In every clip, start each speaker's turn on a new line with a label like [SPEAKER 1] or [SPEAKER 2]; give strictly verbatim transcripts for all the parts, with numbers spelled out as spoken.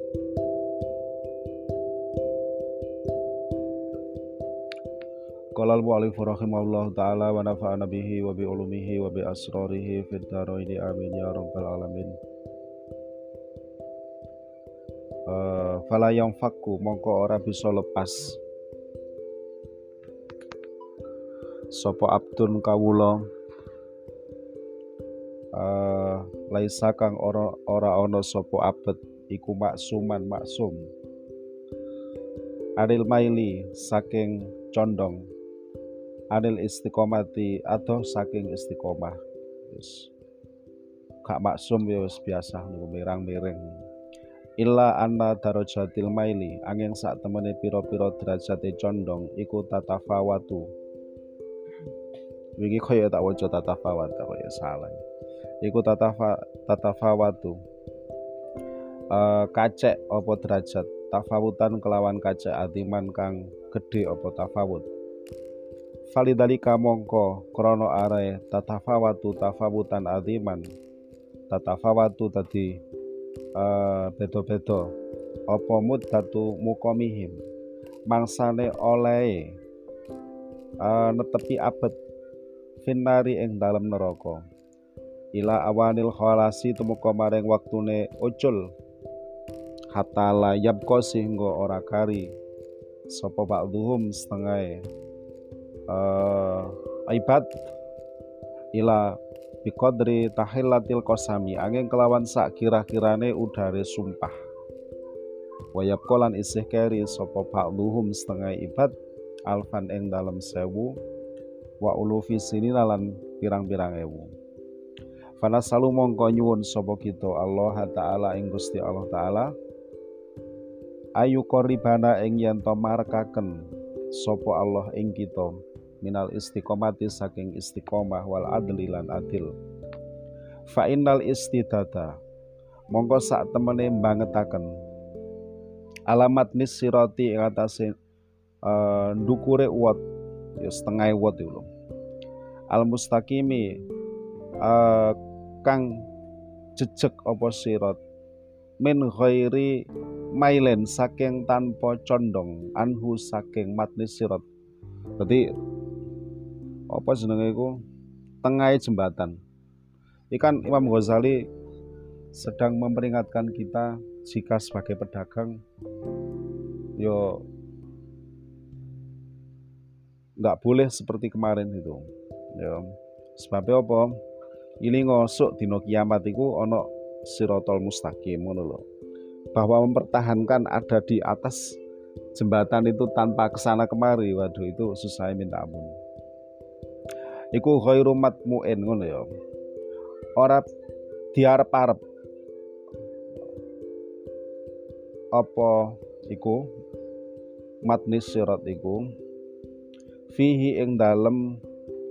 [SPEAKER 1] Qala al-mu'allif rahimahullahu ta'ala wa nafa'ana bihi wa bi ulumihi wa bi asrarihi fid dharaini amin ya rabbal alamin. Uh, fala yang fakku mongko ora bisa lepas sapa abdun kawula uh, laisa kang ora ora ana sapa abet iku maksuman maksum anil maili saking condong, anil istiqomati atau saking istiqomah. Wis gak maksum ya wis biasa niku mirang-miring. Illa anna darajatil maili angin sak temene pira-pira derajate condong iku tatafawatu. Iki kaya tak waca tatafawat kaya salah. Iku tatafa tatafawatu. Uh, kacek apa derajat tafawutan kelawan kacek adiman kang gedhe apa tafawut. Falidalika mongko krana are tatafawatu tafawutan adiman tatafawatu tadi uh, beda-beda apa muddatu muqamihim mangsane oleh uh, netepi abet finari ing dalem neraka ila awanil khalasi tumeka maring waktune ucul hatta la yabqa sehingga ora kari sapa ba'dhum setengah uh, ibad ila biqadri tahillatil qasami angin kelawan sak kira-kirane udare sumpah wa yabqa lan isih kari sapa ba'dhum setengah ibad alfan ing dalem sewu wa ulufi sinina lan pirang-pirang ewu. Fanasalu mongko nyuwun sapa kita Allah taala ing Gusti Allah taala ayu koribana ing yen to marekaken sapa Allah ing kita minal istiqomati saking istiqomah wal adli lan adil. Fa innal istidada mongko sak temene mbangetaken alamat nisirati ing atase uh, ndukure uwat ya setengah uwat iku lho. Al mustaqimi uh, kang jejeg apa sirat min ghairi mailen saking tanpa condong anhu saking matni sirat. Jadi apa jenenge iku tengahe jembatan. Ikan Imam Ghazali sedang memperingatkan kita jika sebagai pedagang yo nggak boleh seperti kemarin itu. Ya. Sebabnya apa? Ini ngosok dino kiamat iku ana sirotol mustaqim ngono lho. Bahwa mempertahankan ada di atas jembatan itu tanpa kesana kemari, waduh itu susah minta ampun. Iku ghairu matmu'in ngono ya. Ora diarep-arep. Apa iku matnis sirat iku fihi ing dalem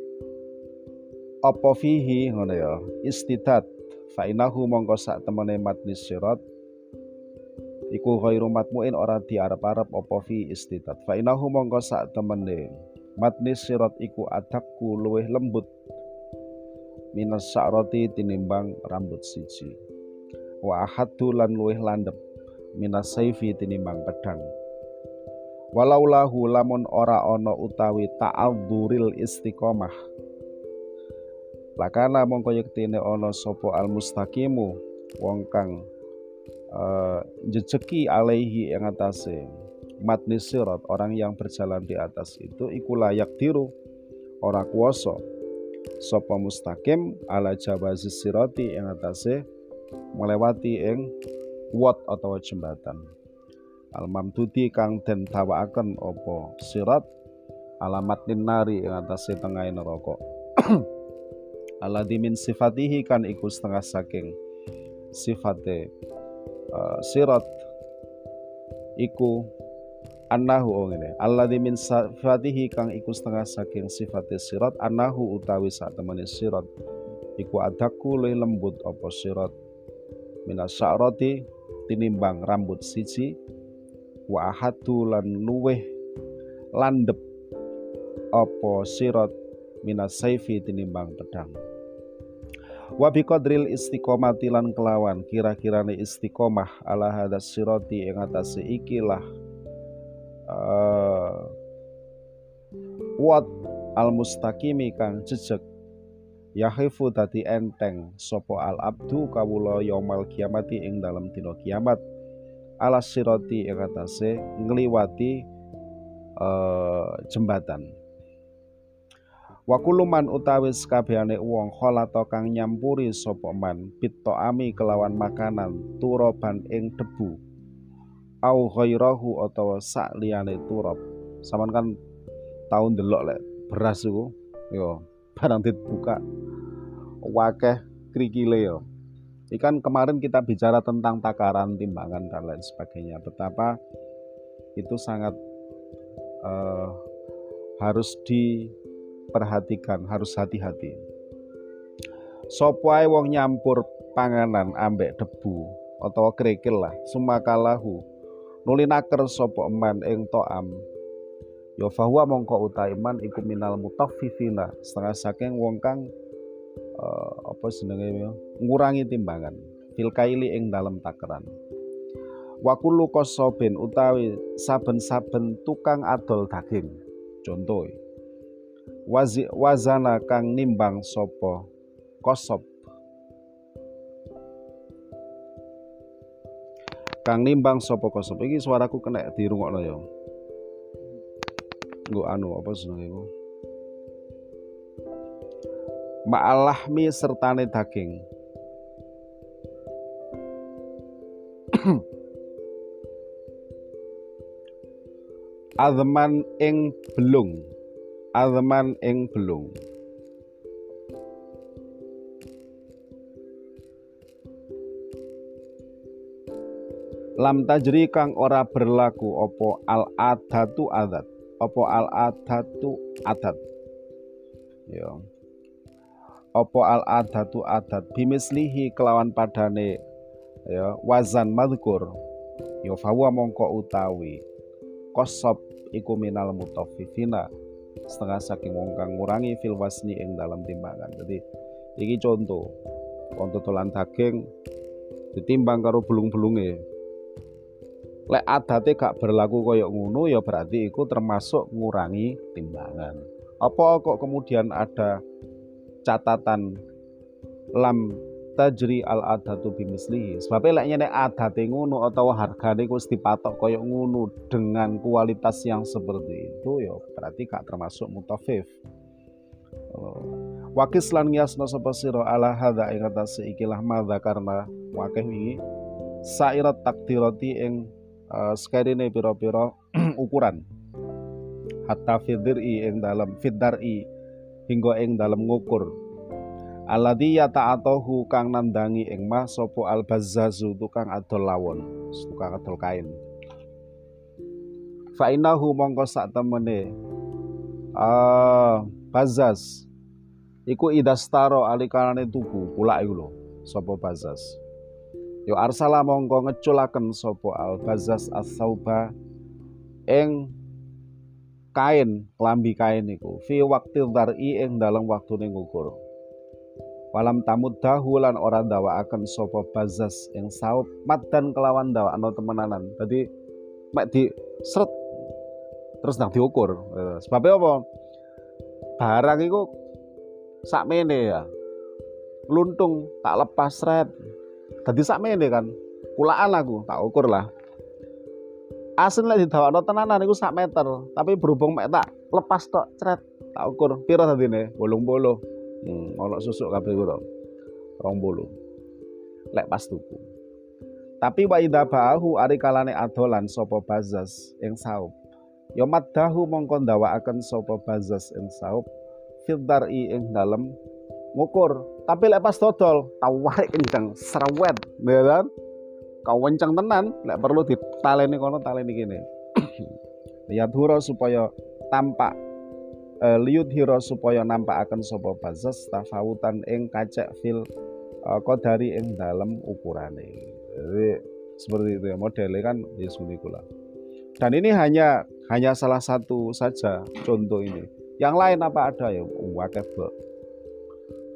[SPEAKER 1] apa fihi ngono ya istidat fa inahu mongko sak temene matnis sirat iku ghairu matmu'in ora diarep-arep apa fi istidat fa inahu mongko sak temene matnis sirat iku adakku luwih lembut minas sa'rati tinimbang rambut siji wa ahaddu lan luwih landhep minas saifi tinimbang pedang walaulahu lamun ora ana utawi ta'adzuril istiqomah lakana mongko yektine ana sapa al mustaqimu wong kang uh, jejeki alaihi yang atase matnis sirat orang yang berjalan di atas itu iku layak diru ora kuwasa sapa mustaqim ala jawazis sirati yang atase melewati ing wat atau jembatan al mamdudi kang den tawakaken apa sirat alamat nari ing atase tengahe neraka alladzi min sifatihi kan iku setengah saking sifate uh, sirat iku annahu oh ngene alladzi min sifatihi kang iku setengah saking sifate sirat annahu utawi sak temene sirat iku adaku luwih lembut apa sirat minas sya'rati tinimbang rambut siji wa ahadu lan luweh landep apa sirat minas saifi tinimbang pedang Wa biqadril istiqomati lan kelawan kira-kirane istiqomah ala hadas sirati ing atase ikilah uh, wat al mustaqimi kang jejeg yahifu dadi enteng sopo al abdu kawula yaumal kiamati ing dalam dina kiamat ala sirati ing atase ngliwati uh, jembatan. Wa kuluman utawi sakabehane wong kholata kang nyampuri sapa man ami kelawan makanan turoban ing debu au ghairahu utawa sak liyane turab. Saman kan tau ndelok lek beras iku yo barang dibuka wakeh krikile yo. Ikan kemarin kita bicara tentang takaran timbangan dan lain sebagainya, betapa itu sangat uh, harus di perhatikan, harus hati-hati. Sopo ae wong nyampur panganan ambek debu utawa krikil lah sumakalahu nulinaker sapa eman ing to'am ya fahuwa mongko uta iman iku minal mutaffifina setengah saking wong kang uh, apa jenenge ngurangi timbangan fil kaili ing dalem takeran. Wa kullu qasobin utawi saben-saben tukang adol daging contoh Wazi, wazana kang nimbang sopo kosob kang nimbang sopo kosob iki suaraku kena dirungokno ya nggo anu apa jenenge iku ma'alahmi sertane daging azman ing belung azman ing belung lam tajri kang ora berlaku opo al adatu adat opo al adatu adat ya opo al adatu adat bimislihi kelawan padane ya wazan madhkur ya fawa mongko utawi kosob iku minal mutaffifina setengah saking wong kang ngurangi fil wasni ing dalam timbangan. Jadi iki contoh wong totolan daging ditimbang karo belung-belunge. Lek adate gak berlaku koyo ngono ya berarti iku termasuk ngurangi timbangan. Apa kok kemudian ada catatan lam tajri al adatu bimislihi. Sebab lek nyene adate ngono utawa hargane wis dipatok koyo ngono dengan kualitas yang seperti itu ya berarti gak termasuk mutafif. Wakis lan ngiasna sapa sira ala hadza ing atase ikilah madza karena wakih wingi sairat takdirati ing uh, sekarine pira-pira ukuran hatta fidri ing dalam fidari hingga ing dalam ngukur alladzi yata'atahu kang nandangi ing mah sapa al-bazzazu tukang adol lawon, tukang adol kain. Fa innahu mongko sak temene ah bazzaz iku idastaro alikanane tuku kulak iku lho sapa bazzaz. Yo arsala mongko ngeculaken sapa al-bazzaz as-sauba ing kain, klambi kain iku fi waqti dzar'i ing dalam waktune ngukur. Walam tamud dahulan orang dawaaken sopo bazas yang saub madan kelawan dawakno temenanan. Jadi mek di seret terus nang diukur. Sebabnya apa? Barang itu sakmene ya. Luntung tak lepas seret. Dadi sakmene kan. Kulaan aku tak ukur lah. Asin lek didawakno tenanan iku sak meter, tapi berhubung mek tak lepas tok cret tak ukur pira dadine? bolong puluh. Hmm, ono susuk kabeh karo rong puluh lek pas tuku. Tapi wa idza ba'ahu ari kalane adolan sapa bazas ing saub ya maddahu mongko ndawakaken sapa bazas ing saub fidari ing dalem ngukur. Tapi lek pas dodol tawarik kenceng serwet ya kan kau wenceng tenan lek perlu ditaleni kono taleni kene lihat hura supaya tampak Uh, liut hiro supaya nampakaken sapa bazas tafawutan ing kacek fil uh, qadari ing dalem ukurane. Jadi seperti itu ya modelnya kan Yesus Nikola. Dan ini hanya hanya salah satu saja contoh ini. Yang lain apa ada ya? Wakeh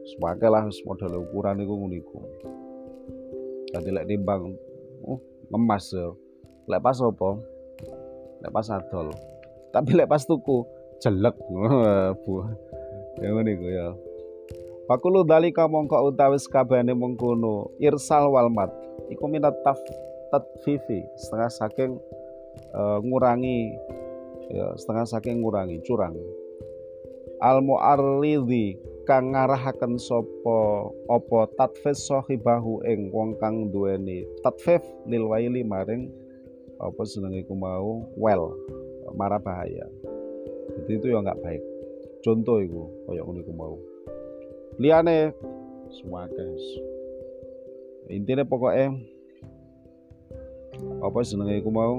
[SPEAKER 1] Sepake lah wis model ukuran iku ngono iku. Dadi lek timbang uh, ngemas ya. Lek pas apa? Lek pas adol. Tapi lek pas tuku jelek. Bu. Ya ngono iku ya. Fakulu dalika mongko utawis kabehane mengkono irsal walmat iku minat taf tatfifi setengah saking uh, ngurangi ya setengah saking ngurangi curang al mu'arridhi kang ngarahaken sapa apa tatfis sahibahu ing wong kang duweni tatfif lil waili maring apa jenenge iku mau well mara bahaya. Jadi itu ya enggak baik. Contoh iku kaya ngono iku mau. Liane semua guys. Intinya pokoknya apa jenenge iku mau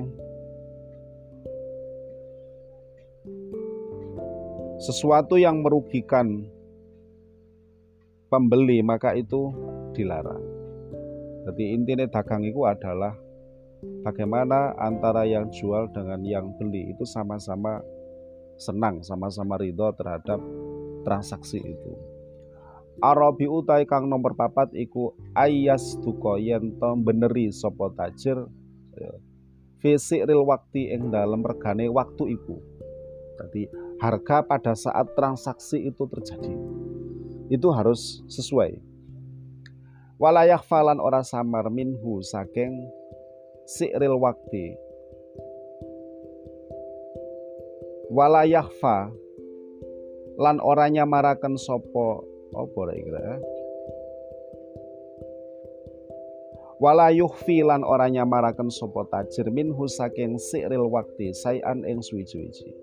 [SPEAKER 1] sesuatu yang merugikan pembeli maka itu dilarang. Jadi intinya dagang itu adalah bagaimana antara yang jual dengan yang beli itu sama-sama senang, sama-sama ridho terhadap transaksi itu. Arabi utai kang nomor papat iku ayas duka yen to beneri sapa tajir fisiril wakti ing dalem regane waktu iku. Jadi harga pada saat transaksi itu terjadi itu harus sesuai. Walayah falan ora samar minhu saking si'ril wakti. Walayah fa lan ora nyamaraken sapa apa rek kira wala yukhfi lan ora nyamaraken sapa tajir minhu saking si'ril wakti sayan ing suwi-wiji.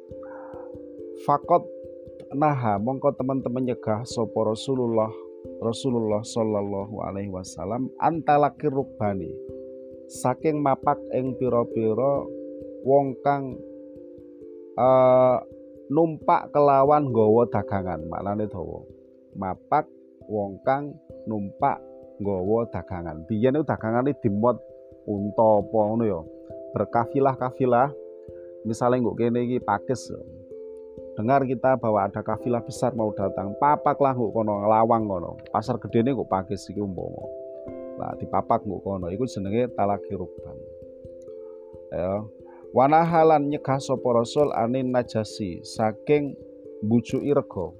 [SPEAKER 1] Fakot naha mongko teman-teman nyegah sapa Rasulullah Rasulullah sallallahu alaihi wasallam antalakir rukbani saking mapak ing pira-pira wong kang uh, numpak kelawan nggawa dagangan. Maknane dawa mapak wong kang numpak nggawa dagangan. Biyen itu dagangane dimot unta apa ngono ya. Berkafilah-kafilah. Misalnya nggo kene iki Pakis. Dengar kita bahwa ada kafilah besar mau datang, papak lah nggo kono lawang kono. Pasar gedene nggo Pakis iki umpama. Lah dipapak nggo kono iku jenenge talaki rukban. Ya. Wanahalan nyegah sapa Rasul anin najasi saking mbujuki rega.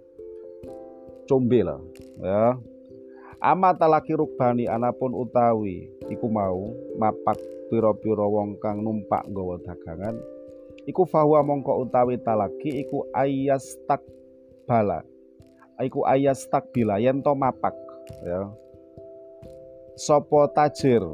[SPEAKER 1] Combe lah ya. Ama talaki rukbani anapun utawi iku mau mapak pira-pira wong kang numpak nggawa dagangan iku fahuwa mongko utawi talaki iku ayas takbala iku ayas takbila yen to mapak ya sapa tajir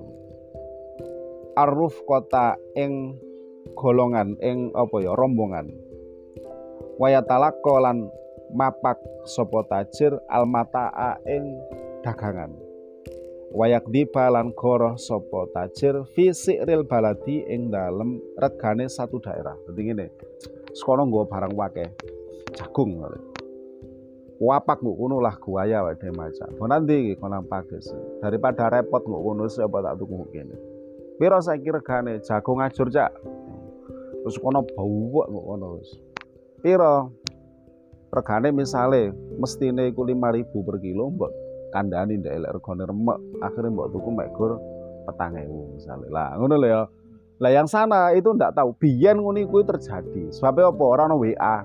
[SPEAKER 1] aruf kota ing golongan ing apa ya rombongan waya talakolan mapak sapa tajir almataa ing dagangan wayak dibalan goroh sapa tajir fi si'ril baladi ing dalem regane satu daerah. Dadi ngene sekono nggo barang wake jagung wapak nggo kono lah guaya wae dhewe maca bonandi iki kono Pakis daripada repot nggo kono sapa tak tuku kene pira saiki regane jagung ajur cak terus kono bau nggo kono wis pira regane misale mestine iku lima ribu per kilo mbok kandhani ndek elek regane remek akhirnya mbok tuku mek gur petang ewu misale lah ngono lho ya. Lah yang sana itu ndak tahu biyen ngono iku terjadi sebab apa ora ono W A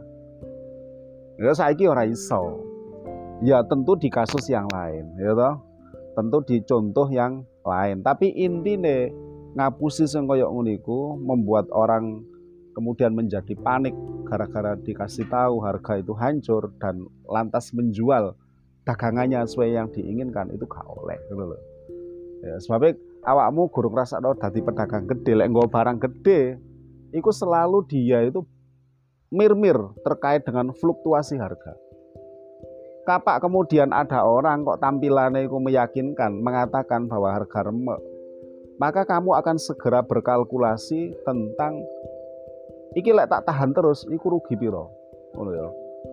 [SPEAKER 1] ya saiki ora iso ya tentu di kasus yang lain ya toh tentu di contoh yang lain tapi intine ngapusi sing kaya ngono iku membuat orang kemudian menjadi panik gara-gara dikasih tahu harga itu hancur dan lantas menjual dagangannya sesuai yang diinginkan itu gak oleh gitu loh. Ya, sebabnya awakmu guru ngrasakno dadi pedagang gede lek nggo barang gede itu selalu dia itu mir-mir terkait dengan fluktuasi harga. Kapak kemudian ada orang kok tampilannya itu meyakinkan mengatakan bahwa harga remek, maka kamu akan segera berkalkulasi tentang iki lek tak tahan terus iku rugi piro ngono ya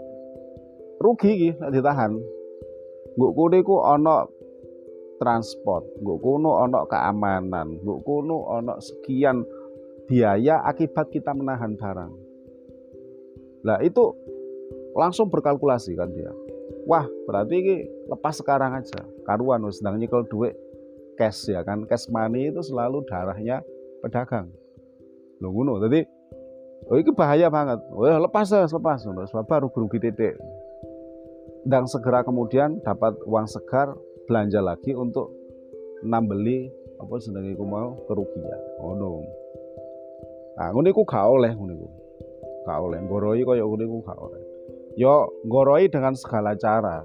[SPEAKER 1] rugi iki lek ditahan nggo kono iku ana transport nggo kono ana keamanan nggo kono ana sekian biaya akibat kita menahan barang lah itu langsung berkalkulasi kan dia Wah, berarti ini lepas sekarang aja. Karuan wis ndang nyekel duit cash ya kan. Cash money itu selalu darahnya pedagang. Lho ngono. Dadi oh ini bahaya banget. Oh ya lepas ya, lepas. Sebab baru rugi titik. Dan segera kemudian dapat uang segar belanja lagi untuk nambeli apa jenenge iku mau kerugian. Ngono. Nah, ngono iku gak oleh ngono iku. Gak oleh nggoroi kaya ngono iku gak oleh. Yo nggoroi dengan segala cara.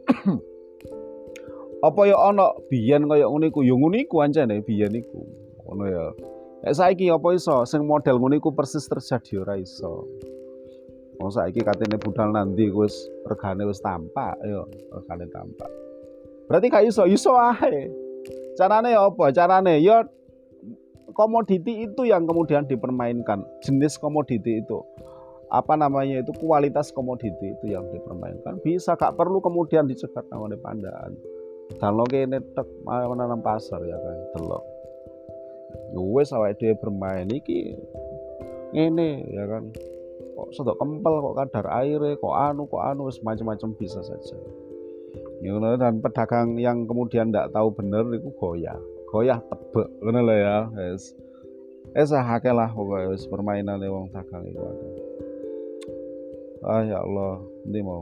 [SPEAKER 1] Apa ya ana biyen kaya ngono iku? Ya ngono iku ancene biyen iku. Ngono ya. Nek saiki apa iso sing model ngono iku persis terjadi ora iso. Wong saiki katene budal nanti wis regane wis tampak ya, regane tampak. Berarti gak iso, iso ae. Carane ya apa? Carane ya komoditi itu yang kemudian dipermainkan. Jenis komoditi itu. Apa namanya itu kualitas komoditi itu yang dipermainkan. Bisa gak perlu kemudian dicegat nang pandaan. Dalok kene tek menanam pasar ya kan, delok. Wis awake dhewe bermain iki ngene ya kan. Kok sedok kempel, kok kadar airnya, kok anu, kok anu, macam-macam bisa saja. Ya, dan pedagang yang kemudian tidak tahu benar itu goyah, goyah tebek, bener lah ya, es, es hake lah pokoknya es permainan wong dagang itu ada. Ah ya Allah, ini mau.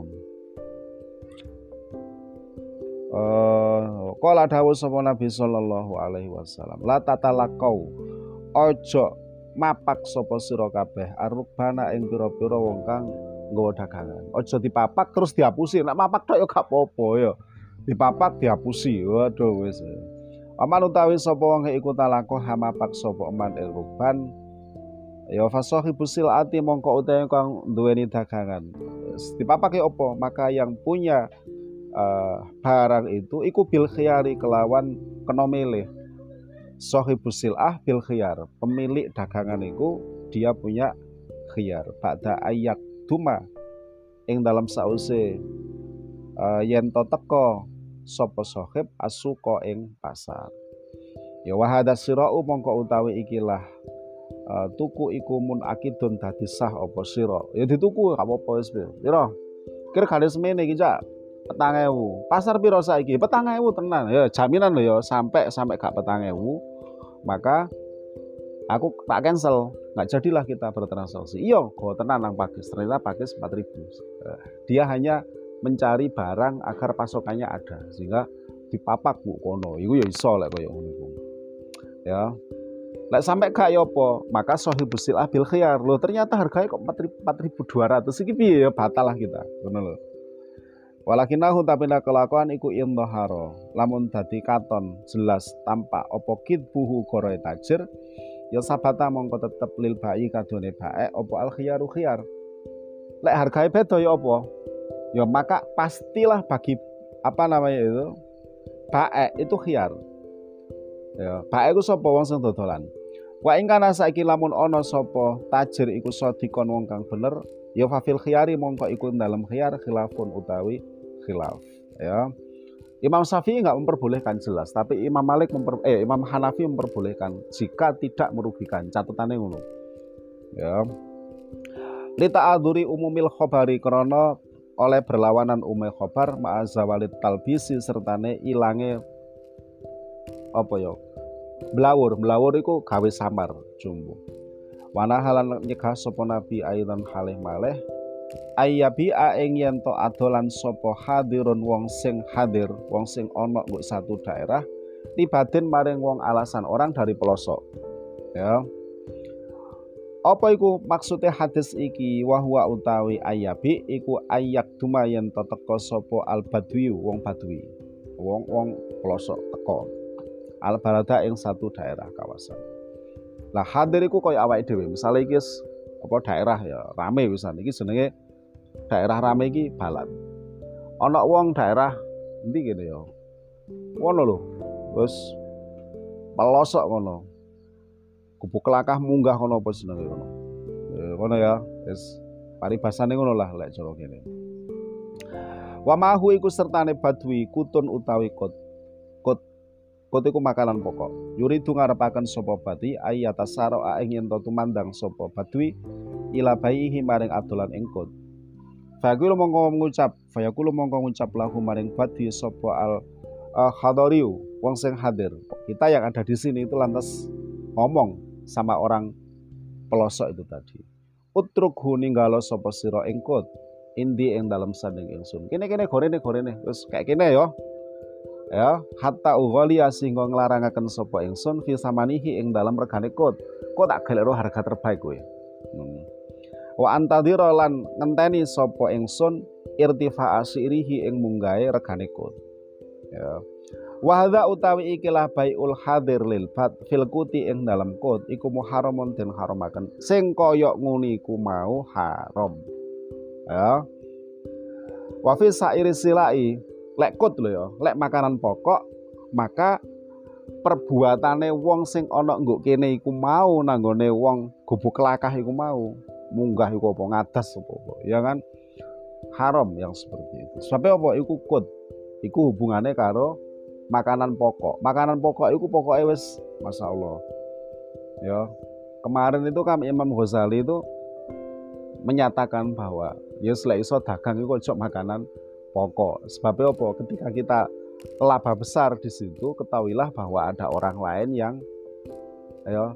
[SPEAKER 1] Uh, Qala dawuh sapa Nabi sallallahu alaihi wasallam, la tatalaqau, ojo mapak sapa sira kabeh arubana ing pira-pira wong kang nggawa dagangan. Aja dipapak terus dihapusi. Nek mapak tok ya gak apa-apa ya. Dipapak dihapusi. Waduh wis. Aman utawi sapa wong iku talako hamapak sapa eman ing ruban ya fasahibu silati mongko utawi kang duweni dagangan. Dipapak ya apa? Maka yang punya uh, barang itu iku bil khiyari kelawan kena milih. Sohibus sil'ah bil khiyar, pemilik dagangan itu dia punya khiyar ba'da ayak duma ing dalam sause uh, yen to teko sapa sohib asuka ing pasar. Ya wahada sirau mongko utawi ikilah uh, tuku iku mun akidun dadi sah apa sira. Ya dituku gak apa-apa wis pira. Kira gale semene iki cak petang ewu. Pasar piro saiki? Petang ewu tenan. Ya jaminan lho ya sampai sampai gak petang ewu. Maka aku tak cancel, nggak jadilah kita bertransaksi. Iyo, kok tenan nang Pakis, ternyata Pakis empat ribu. Dia hanya mencari barang agar pasokannya ada, sehingga dipapak bu kono. Iku ya iso lek koyo ngono iku. Ya. Lek sampai gak ya apa, maka sohibus sil'ah bil khiyar. Loh, ternyata harganya kok empat ribu dua ratus. Iki piye ya batal lah kita. Ngono lho. Walakinahu tapi nak kelakuan iku indhahara lamun dadi katon jelas tampak apa kidbuhu goroe tajir ya sabata mongko tetep lil bai kadone bae apa al khiyaru khiyar. Lek hargae beda ya apa? Ya maka pastilah bagi apa namanya itu bae itu khiyar. Ya, bae iku sapa wong sing dodolan. Wa ing kana saiki lamun ana sapa tajir iku sadikon wong kang bener ya fafil khiyari mongko iku dalam khiyar khilafun utawi khilaf ya. Imam Syafi'i enggak memperbolehkan jelas, tapi Imam Malik memper, eh Imam Hanafi memperbolehkan jika tidak merugikan. Catatannya ngono. Ya. Li ta'adzuri umumil khabari krana oleh berlawanan umumil khabar ma'azawalid talbisi sertane ilange apa ya? Blawur, blawur iku gawe samar jumbo. Wana halan nyegah sapa nabi aidan halih malih ayabi ing yen to adolan sapa hadirun wong sing hadir, wong sing ana nggo satu daerah libatin maring wong alasan orang dari pelosok. Ya. Apa iku maksudnya hadis iki? Wahwa utawi ayabi iku ayak duma yen to teka sapa al badwi wong badwi. Wong-wong pelosok teko. Al balada ing satu daerah kawasan. Lah hadir iku koyo awake dhewe. Misale iki apa daerah ya rame wisan iki jenenge daerah rame iki balad. Ana wong daerah endi kene ya. Ngono lho. Wis pelosok ngono. Gubuk kelakah munggah kono apa jenenge kono. Ya kono ya, wis paribasane ngono lah lek cara kene. Wa mahu iku sertane badwi kutun utawi kot. Kot kot iku makanan pokok. Yuridu ngarepaken sapa badwi ayatasara ing yen tumandang sapa badwi ila baihi maring adolan ing kot. Fayaqulu mongko ngucap, fayaqulu mongko ngucap lahu maring badhi sapa al uh, hadariu, wong sing hadir. Kita yang ada di sini itu lantas ngomong sama orang pelosok itu tadi. Utrukhu ninggalo sapa sira ing kot, indi ing dalem sanding ingsun. Kene-kene gorene gorene, wis kayak kene ya. Ya, hatta ughali sehingga nglarangaken sapa ingsun fi samanihi ing dalem regane kot. Kok tak galero harga terbaik kowe. Hmm. Wa antadhira lan ngenteni sapa ingsun irtifa asirihi ing munggahe regane kot. Ya. Wa hadza utawi ikilah baiul hadir lil fat fil kuti ing dalam kot iku muharramun den haramaken. Sing kaya ngene iku mau haram. Ya. Wa fi sairi silai lek kot lho ya, lek makanan pokok maka perbuatane wong sing ana nggo kene iku mau nanggone wong gubuk kelakah iku mau munggah iku apa ngadas apa ya kan haram yang seperti itu. Sebab apa iku kot iku hubungannya karo makanan pokok. Makanan pokok iku pokoknya wis masyaallah. Ya. Kemarin itu kan Imam Ghazali itu menyatakan bahwa ya lek iso dagang iku ojo makanan pokok. Sebabnya apa? Ketika kita laba besar di situ, ketahuilah bahwa ada orang lain yang ya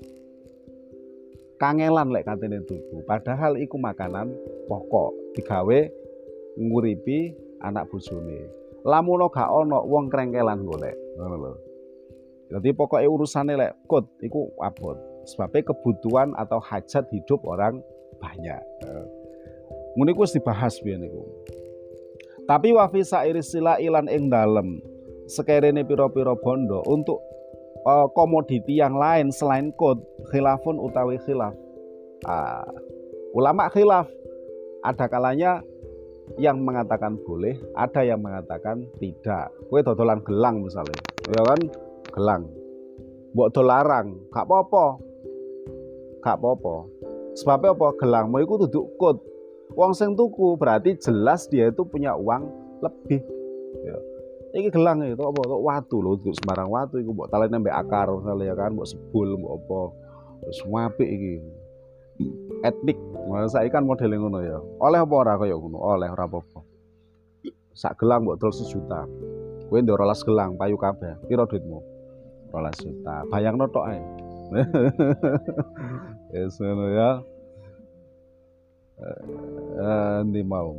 [SPEAKER 1] kangelan lek katene tuku. Padahal iku makanan pokok digawe nguripi anak bojone. Lamun gak ono wong krengkelan golek, ngono lho. Jadi pokoknya urusane lek kot iku abot. Sebabnya kebutuhan atau hajat hidup orang banyak. Ngono iku wis dibahas biyen niku. Tapi wa fi sairi sila ilan ing dalem sekerene pira-pira bondo untuk uh, komoditi yang lain selain kot khilafun utawi khilaf. Ah, ulama khilaf ada kalanya yang mengatakan boleh, ada yang mengatakan tidak. Kowe dodolan gelang misalnya, ya kan gelang. Mbok dolarang, gak apa-apa. Gak apa-apa. Sebabnya apa? Gelangmu iku duduk kot. Wong sing tuku berarti jelas dia itu punya uang lebih. Ya. Iki gelang itu apa? Kok watu lho, duduk sembarang watu iku mbok talene mbek akar misalnya ya kan, mbok sebul mbok apa. Wis apik iki. Etnik. Nah, saiki kan modele ngono ya. Oleh apa ora kaya ngono? Oleh ora apa-apa. Sak gelang mbok dol sejuta. Kowe ndek rolas gelang payu kabeh. Piro duitmu? rolas juta. Bayangno tok ae. Wis ngono ya. Eh ndi mau.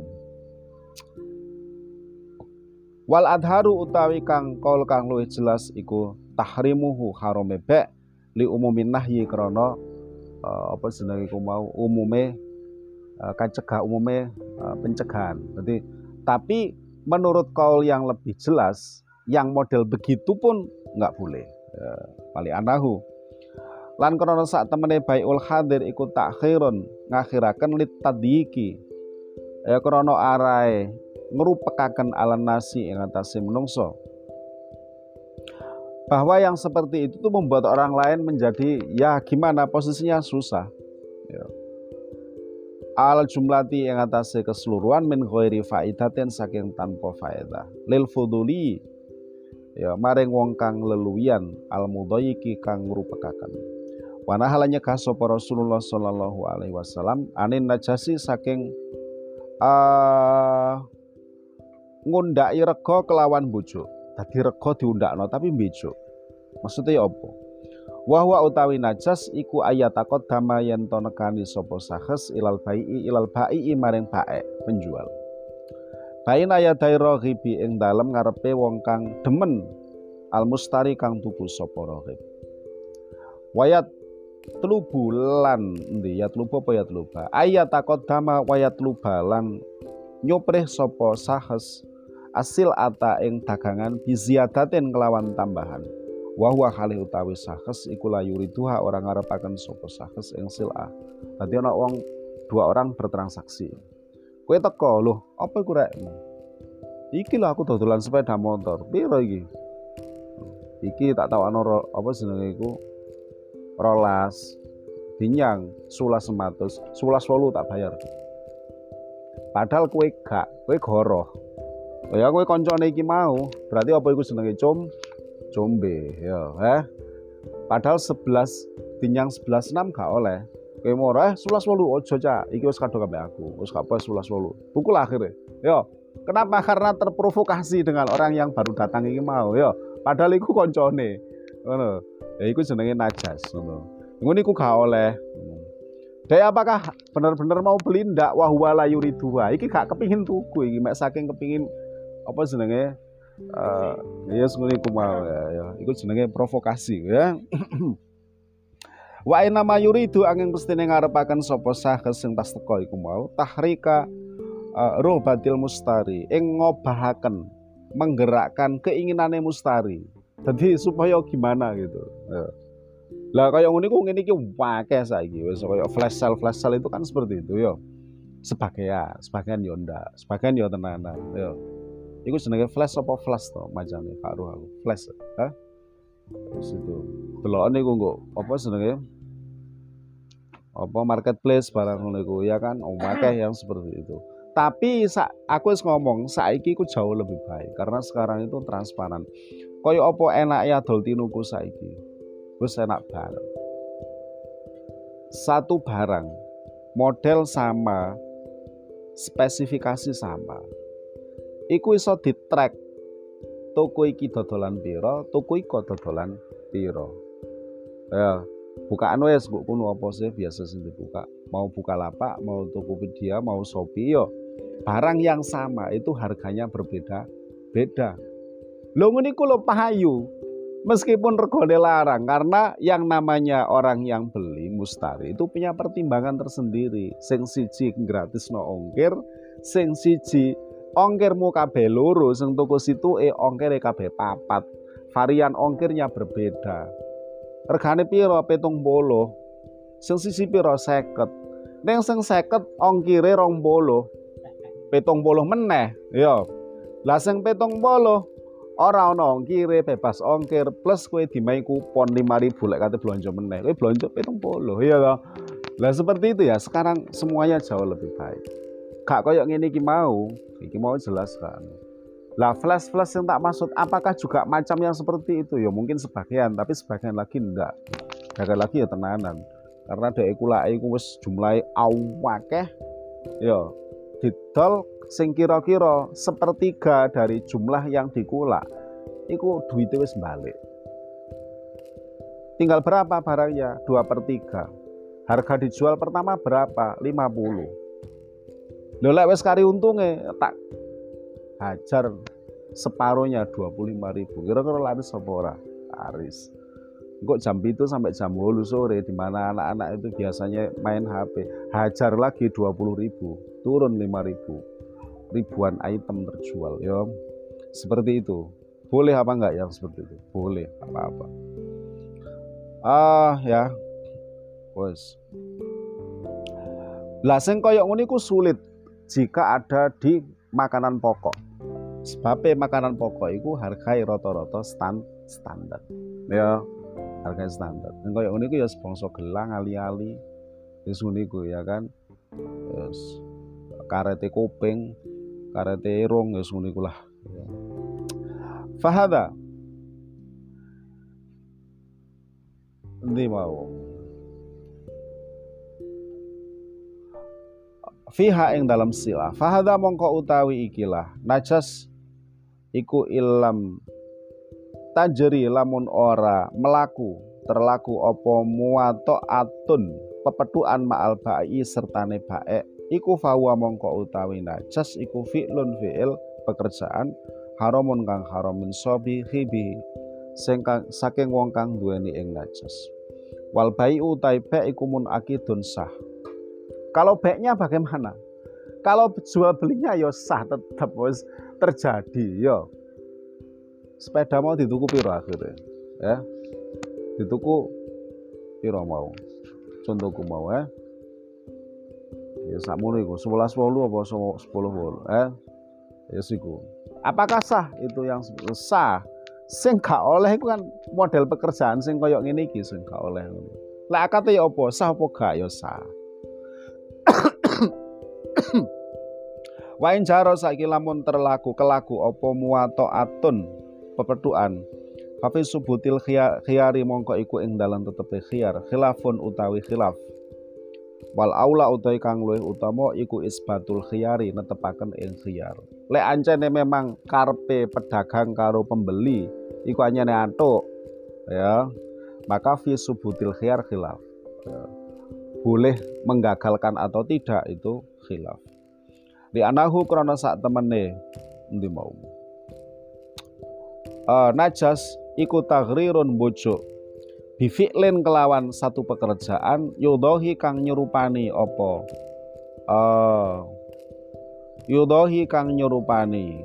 [SPEAKER 1] Wal adharu utawi kang kaul kang luwih jelas iku tahrimuhu harame be li umumin nahyi krana uh, apa jenenge iku mau umume uh, kacegah umume uh, pencegahan. Jadi tapi menurut kaul yang lebih jelas yang model begitu pun enggak boleh. Ya, pali anahu lan krana sak temene baiul hadir iku takhirun ngakhiraken lit tadiki ya krana arae ngrupekaken ala nasi ing atase menungso, bahwa yang seperti itu tuh membuat orang lain menjadi ya gimana posisinya susah ya. Al jumlati ing atase keseluruhan min ghairi faidatin saking tanpa faedah lil fuduli ya maring wong kang leluwian al mudhayyiki kang ngrupekaken. Wana halanya kasapa Rasulullah sallallahu alaihi wasallam anin najasi saking uh, ngundaki rega kelawan bojo. Dadi rega diundakno tapi mbejo. Maksudnya apa? Wa huwa utawi najas iku ayatakot dama yen to nekani sapa sahes ilal bai'i ilal bai'i maring bae penjual. Bain ayatai raghibi ing dalem ngarepe wong kang demen al mustari kang tuku sapa raghib. Wayat tlubu lan endi ya tlubu apa ya tluba ayat takot dama wayat tluba lan nyopreh sapa sahes asil ata ing dagangan biziadatin kelawan tambahan wa huwa halih utawi sahes iku la yuriduha orang ngarepaken sapa sahes ing sil'ah. Dadi ana wong dua orang bertransaksi. Kowe teko lho, apa iku rek? Iki lho aku dodolan sepeda motor. Piro iki? Iki tak tawakno apa jenenge iku rolas dinyang sulas sematus sulas wolu tak bayar. Padahal kue gak, kue goroh. Ya kue koncone iki mau, berarti apa iku jenenge com combe ya, eh. Padahal sebelas dinyang sebelas enam gak oleh. Kowe moro eh sebelas wolu ojo cak, iki wis kadung ambek aku, wis gak apa sebelas wolu. Pukul akhirnya. Yo, kenapa? Karena terprovokasi dengan orang yang baru datang iki mau, yo. Padahal iku koncone. Ngono. Ya iku jenenge najas ngono. Ngono iku gak oleh. Dek apakah benar-benar mau beli ndak wa huwa la yuridu. Iki gak kepingin tuku iki, mek saking kepingin apa jenenge eh ya ngono iku mau ya, ya. Iku jenenge provokasi ya. Wa inna ma yuridu angin mestine ngarepaken sapa saha sing tas teka iku mau tahrika uh, robatil mustari ing ngobahaken menggerakkan keinginane mustari. Jadi supaya gimana gitu. Ya. Lah kaya ngene iku ngene iki akeh saiki wis kaya flash sale flash sale itu kan seperti itu ya. Sebagian, sebagian yo ndak, sebagian yo tenanan ya. Iku jenenge flash apa flash to macane Pak Ruh aku. Flash. Hah? Terus itu. Delokane iku nggo apa jenenge? Apa marketplace barang ngono iku ya kan akeh yang seperti itu. Tapi aku wis ngomong saiki iku jauh lebih baik karena sekarang itu transparan. Kaya apa enak ya dol tinuku saiki. Wis enak banget. Satu barang model sama, spesifikasi sama. Iku iso di-track toko iki dodolan piro, toko iki dodolan piro. Ya, bukaan wes mbok kuno apa sih biasa sing dibuka. Mau Bukalapak, mau Tokopedia, mau Shopee yo. Barang yang sama itu harganya berbeda-beda. Lho ngene iku lho pahayu. Meskipun regane larang karena yang namanya orang yang beli mustari itu punya pertimbangan tersendiri. Sing siji gratis no ongkir, sing siji ongkirmu kabeh loro, sing toko situke ongkire kabeh papat. Varian ongkirnya berbeda. Regane piro pitung puluh. Sing sisi piro seket. Ning sing seket ongkire rong puluh. pitung puluh meneh. Ya. Lah sing pitung puluh ora ana ongkire, bebas ongkir plus kowe dimai kupon lima ribu lek kate blonjo meneh. Kowe blonjo pitung puluh. Iya toh. Lah seperti itu ya. Sekarang semuanya jauh lebih baik. Gak koyo ngene iki mau. Iki mau jelaskan. Lah flash-flash yang tak maksud apakah juga macam yang seperti itu? Ya mungkin sebagian, tapi sebagian lagi enggak. Sebagian lagi ya tenanan. Karena dhek iku lak iku wis jumlahe awakeh. Ya didol sing kira-kira sepertiga dari jumlah yang dikulak. Iku duitnya wis balik. Tinggal berapa barangnya? dua per tiga. Harga dijual pertama berapa? lima puluh. Lho lek wis kari untunge tak hajar separuhnya dua puluh lima ribu. Kira-kira laris apa ora? Laris. Kok jam itu sampai jam dua sore di mana anak-anak itu biasanya main H P. Hajar lagi dua puluh ribu, turun lima ribu. Ribuan item terjual ya. Seperti itu. Boleh apa enggak yang seperti itu? Boleh, apa-apa. Ah ya. Wes. Lah sing kaya ngene iku sulit jika ada di makanan pokok. Sebab makanan pokok itu harga rata-rata stand standar. Ya, harga standar. Nek koyo ngene iku ya sebangsa gelang ali-ali. Wis ngene iku ya kan. Terus karete kuping, karete irung wis ngene iku lah. Fahada. Ndi mau. Fiha ing dalam sila. Fahada mongko utawi ikilah najas iku ilam tajri lamun ora melaku terlaku opo muato atun pepetuan ma'al ba'i sertane ba'ek iku fawa mongko utawi najas iku fi'lun fi'il pekerjaan haramun kang haramin sobi hibi sing saking wong kang duweni ing najas wal ba'i utai ba'ik iku mun akidun sah. Kalau baiknya bagaimana? Kalau jual belinya ya sah tetap wis terjadi ya. Sepeda mau dituku piro akhirnya? Ya. Dituku piro mau? Contohku mau ya. Ya sakmono iku sebelas wolu apa sepuluh wolu eh. Ya siku. Apakah sah itu yang sah? Sing gak oleh iku kan model pekerjaan sing koyo ngene iki sing gak oleh. Lek akate ya apa? Sah apa gak ya sah. Wain jaro saiki lamun terlaku kelaku apa muwato atun pepetuan Fafi subutil khiyari mongko iku ing dalam tetepe khiyar khilafun utawi khilaf Wal aula utawi kang luwih utama iku isbatul khiyari netepaken ing khiyar. Lek ancene memang karepe pedagang karo pembeli iku anyane antuk ya, maka fi subutil khiyar khilaf. Ya. Boleh menggagalkan atau tidak itu khilaf. Di anahu krana sak temene endi mau. Uh, najas iku taghrirun bojo bifi'lin kelawan satu pekerjaan yudhohi kang nyerupani apa uh, yudhohi kang nyerupani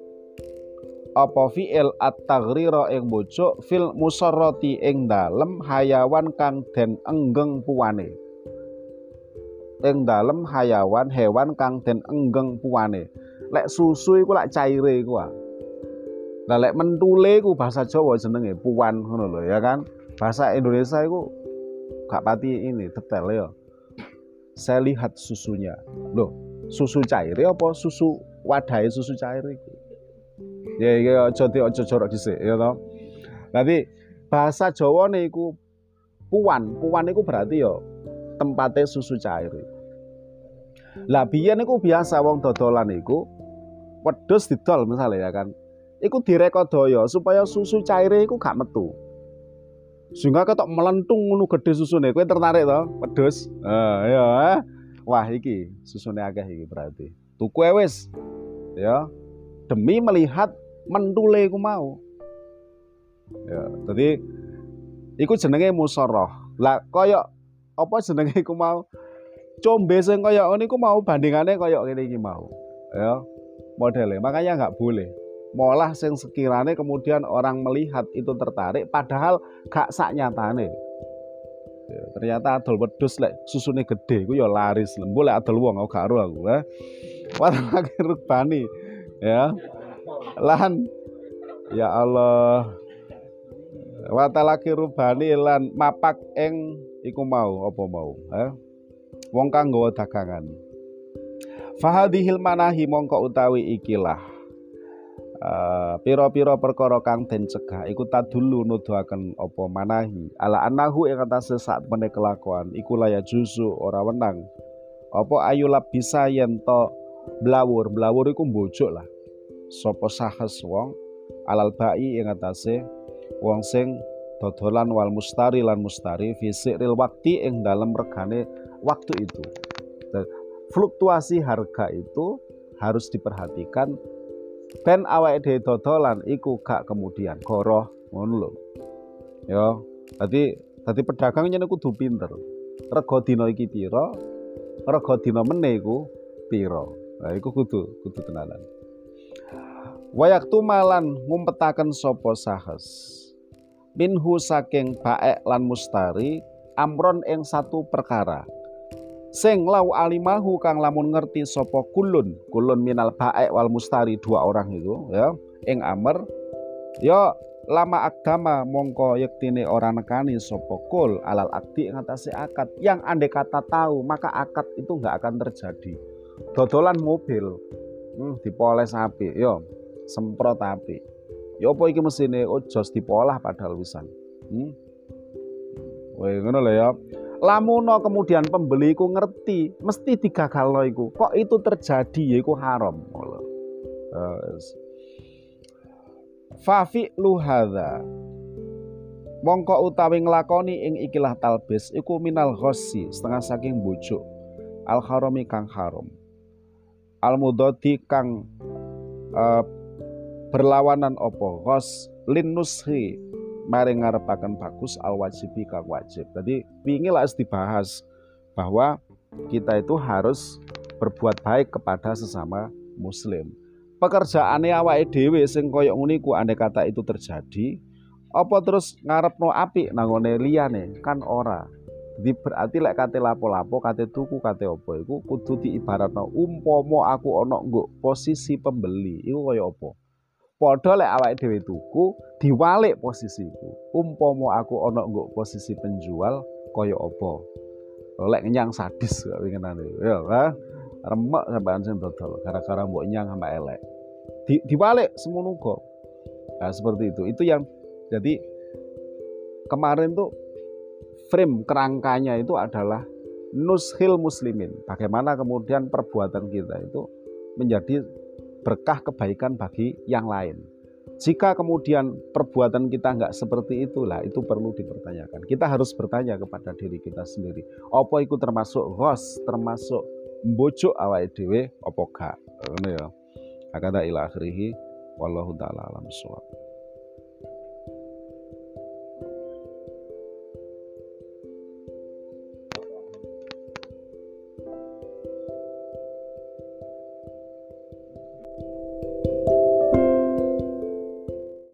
[SPEAKER 1] apa fi'il at-taghrira ing bojo fil musarrati ing dalem hayawan kang den enggeng puwane ing dalem hayawan hewan kang den enggeng puwane. Lek susu iku lak caire iku ah. Lah lek mentule iku bahasa Jawa jenenge puan ngono lho ya kan. Bahasa Indonesia iku gak pati ini detail ya. Saya lihat susunya. Loh, susu cair apa susu wadahe susu cair iku? Ya iki aja di aja jorok dhisik ya to. Nanti bahasa Jawane iku puan. Puan iku berarti ya tempatnya susu cair. Lah biyen iku biasa wong dodolan iku wedhus didol misalnya ya kan. Iku direkodaya supaya susu caire iku gak metu. Sehingga ketok melentung ngono gede susune. Kowe tertarik to, wedhus? Heeh, ya. Wah, iki susune akeh iki berarti. Tuku wis. Ya. Demi melihat mentule iku mau. Ya, dadi iku jenenge musarrah. Lah kaya apa jenenge iku mau? Combe sing kaya ngene iku mau bandingane kaya ngene iki mau. Ya. Modele. Makanya enggak boleh. Molah sing sekirane kemudian orang melihat itu tertarik padahal gak sak nyatane. Ya, ternyata adol wedhus lek susune gede iku ya laris. Lembu lek adol wong gak ero aku, eh. Warnake rubani. Ya. Lan ya Allah. Watalaki rubani lan mapak ing iku mau apa mau, eh. Wong kang nggawa dagangan. Fahadhil manahi mongko utawi ikilah Uh, piro-piro perkara kang den cegah iku tadulu nuduhaken apa manahi ala anahu ing atase sak meneh kelakuan iku laya juzu ora wenang apa ayulab bisa yen to blawur blawur iku mbojok lah sapa sahes wong alal bai ing atase wong sing dodolan wal mustari lan mustari fisiril wakti ing dalem regane waktu itu. Dan fluktuasi harga itu harus diperhatikan ben awake dhewe dodolan iku gak kemudian goroh ngono lho. Ya, dadi dadi pedagang nyene kudu pinter. Rega dina iki pira? Rega dina meneh iku pira? Nah, iku kudu kudu tenanan. Wayaktu malan ngumpetaken sapa sahes. Minhu saking baek lan mustari amron ing satu perkara. Sing lau alimahu kang lamun ngerti sapa kulun kulun minal baek wal mustari dua orang itu ya ing amr ya lama agama mongko yektine orang nekani sapa kul alal akdi ing atase akad yang andai kata tahu maka akad itu enggak akan terjadi. Dodolan mobil hmm, dipoles apik ya semprot apik ya apa iki mesine oh jos dipolah padahal wisan hmm? Weh ngono lho ya. Lamuno kemudian pembeli ku ngerti mesti digagalno iku kok itu terjadi yaiku haram. Fafi luhadza mongko utawi nglakoni ing ikilah talbis iku minal ghossi setengah saking bojo al harami kang haram al mudadi kang uh, berlawanan opo ghos lin nushi mari ngarepaken bagus al wajibi kang wajib. Jadi wingi lah dibahas bahwa kita itu harus berbuat baik kepada sesama muslim. Pekerjaane awake dhewe sing kaya ngene iku andai kata itu terjadi, apa terus ngarepno apik nangone liyane kan ora. Jadi berarti lek kate lapo-lapo, kate tuku, kate apa iku kudu diibaratno umpama aku ana nggo posisi pembeli, iku kaya apa? Padha lek awake dhewe tuku diwalik posisiku. Umpama aku ana nggo posisi penjual kaya apa? Lek nyang sadis kok winginane. Ya, ha? Remek sampean sing dodol gara-gara mbok nyang sampe elek. Di, diwalik semono kok. Nah, seperti itu. Itu yang jadi kemarin tuh frame kerangkanya itu adalah nushil muslimin, bagaimana kemudian perbuatan kita itu menjadi berkah kebaikan bagi yang lain. Jika kemudian perbuatan kita nggak seperti itulah, itu perlu dipertanyakan. Kita harus bertanya kepada diri kita sendiri, apa itu termasuk ghos, termasuk mbojok awake dhewe apa gak. Ngono ya. Hakada ila akhirih, wallahu taala alam bissawab.